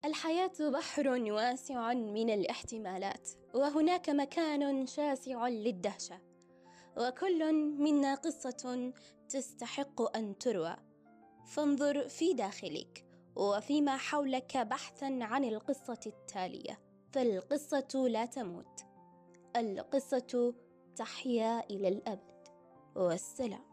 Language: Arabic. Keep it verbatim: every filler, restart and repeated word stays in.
الحياة بحر واسع من الاحتمالات، وهناك مكان شاسع للدهشة، وكل منا قصة تستحق أن تروى. فانظر في داخلك وفيما حولك بحثاً عن القصة التالية، فالقصة لا تموت، القصة تحيا إلى الأبد. والسلام.